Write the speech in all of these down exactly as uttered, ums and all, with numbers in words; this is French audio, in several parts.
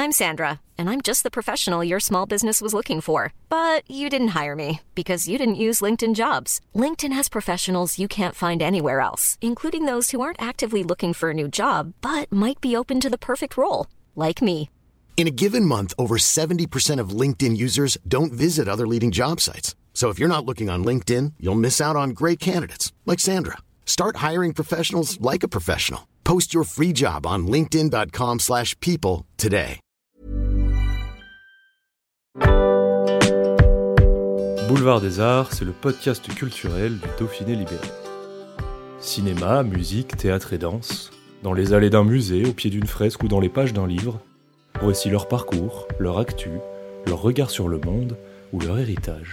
I'm Sandra, and I'm just the professional your small business was looking for. But you didn't hire me because you didn't use LinkedIn Jobs. LinkedIn has professionals you can't find anywhere else, including those who aren't actively looking for a new job, but might be open to the perfect role, like me. In a given month, over seventy percent of LinkedIn users don't visit other leading job sites. So if you're not looking on LinkedIn, you'll miss out on great candidates like Sandra. Start hiring professionals like a professional. Post your free job on linkedin.com slash people today. Boulevard des Arts, c'est le podcast culturel du Dauphiné libéré. Cinéma, musique, théâtre et danse, dans les allées d'un musée, au pied d'une fresque ou dans les pages d'un livre, voici leur parcours, leur actu, leur regard sur le monde ou leur héritage.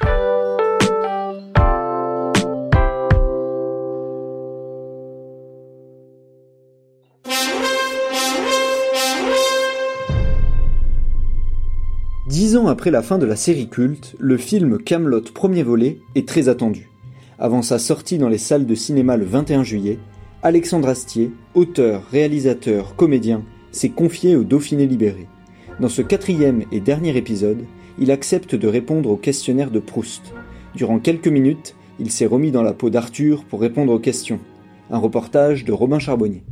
Dix ans après la fin de la série culte, le film Kaamelott premier volet est très attendu. Avant sa sortie dans les salles de cinéma le vingt et un juillet, Alexandre Astier, auteur, réalisateur, comédien, s'est confié au Dauphiné libéré. Dans ce quatrième et dernier épisode, il accepte de répondre au questionnaire de Proust. Durant quelques minutes, il s'est remis dans la peau d'Arthur pour répondre aux questions. Un reportage de Robin Charbonnier.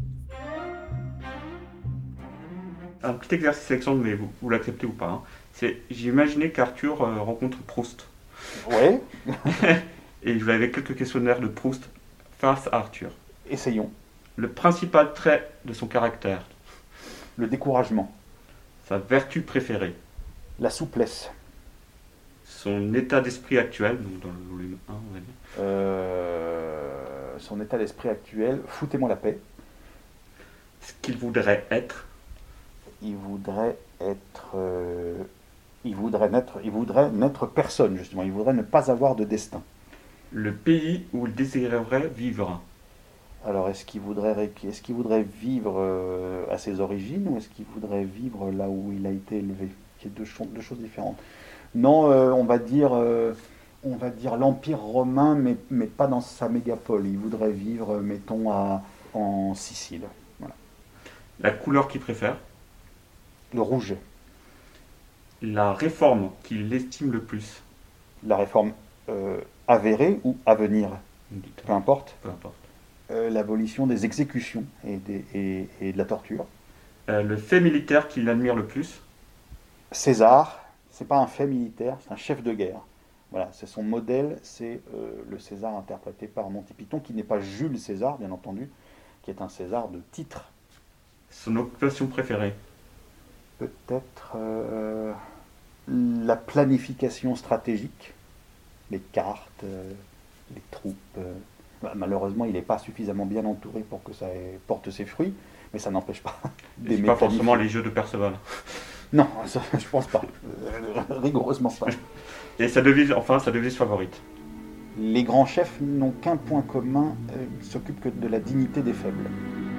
Un petit exercice Alexandre, mais vous, vous l'acceptez ou pas, hein. C'est, j'ai imaginé qu'Arthur euh, rencontre Proust. Ouais. Et je lui avais quelques questionnaires de Proust face à Arthur. Essayons. Le principal trait de son caractère. Le découragement. Sa vertu préférée. La souplesse. Son état d'esprit actuel, donc dans le volume un, on va dire. Euh, son état d'esprit actuel, foutez-moi la paix. Ce qu'il voudrait être. Il voudrait être... Euh, il voudrait n'être, il voudrait n'être personne, justement. Il voudrait ne pas avoir de destin. Le pays où il désirerait vivre. Alors, est-ce qu'il voudrait, est-ce qu'il voudrait vivre euh, à ses origines ou est-ce qu'il voudrait vivre là où il a été élevé? C'est deux, cho- deux choses différentes. Non, euh, on va dire, euh, on va dire l'Empire romain, mais, mais pas dans sa mégapole. Il voudrait vivre, mettons, à, en Sicile. Voilà. La couleur qu'il préfère. Le rouge. La réforme qu'il estime le plus. La réforme euh, avérée ou à venir. Peu importe. Peu importe. Euh, l'abolition des exécutions et, des, et, et de la torture. Euh, le fait militaire qu'il admire le plus. César, c'est pas un fait militaire, c'est un chef de guerre. Voilà, c'est son modèle, c'est euh, le César interprété par Monty Python, qui n'est pas Jules César, bien entendu, qui est un César de titre. Son occupation préférée. Peut-être euh, la planification stratégique, les cartes, euh, les troupes. Euh, bah, malheureusement, il n'est pas suffisamment bien entouré pour que ça ait, porte ses fruits, mais ça n'empêche pas d'aimer. C'est pas forcément les jeux de Perceval. Non, ça, je pense pas. Euh, rigoureusement pas. Et sa devise, enfin, sa devise favorite. Les grands chefs n'ont qu'un point commun, euh, ils s'occupent que de la dignité des faibles.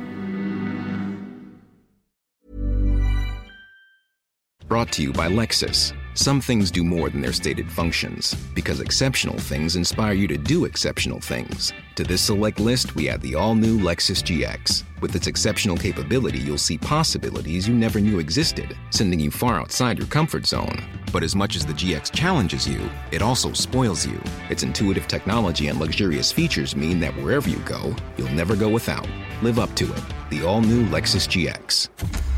Brought to you by Lexus. Some things do more than their stated functions, because exceptional things inspire you to do exceptional things. To this select list, we add the all-new Lexus G X. With its exceptional capability, you'll see possibilities you never knew existed, sending you far outside your comfort zone. But as much as the G X challenges you, it also spoils you. Its intuitive technology and luxurious features mean that wherever you go, you'll never go without. Live up to it. The all-new Lexus G X.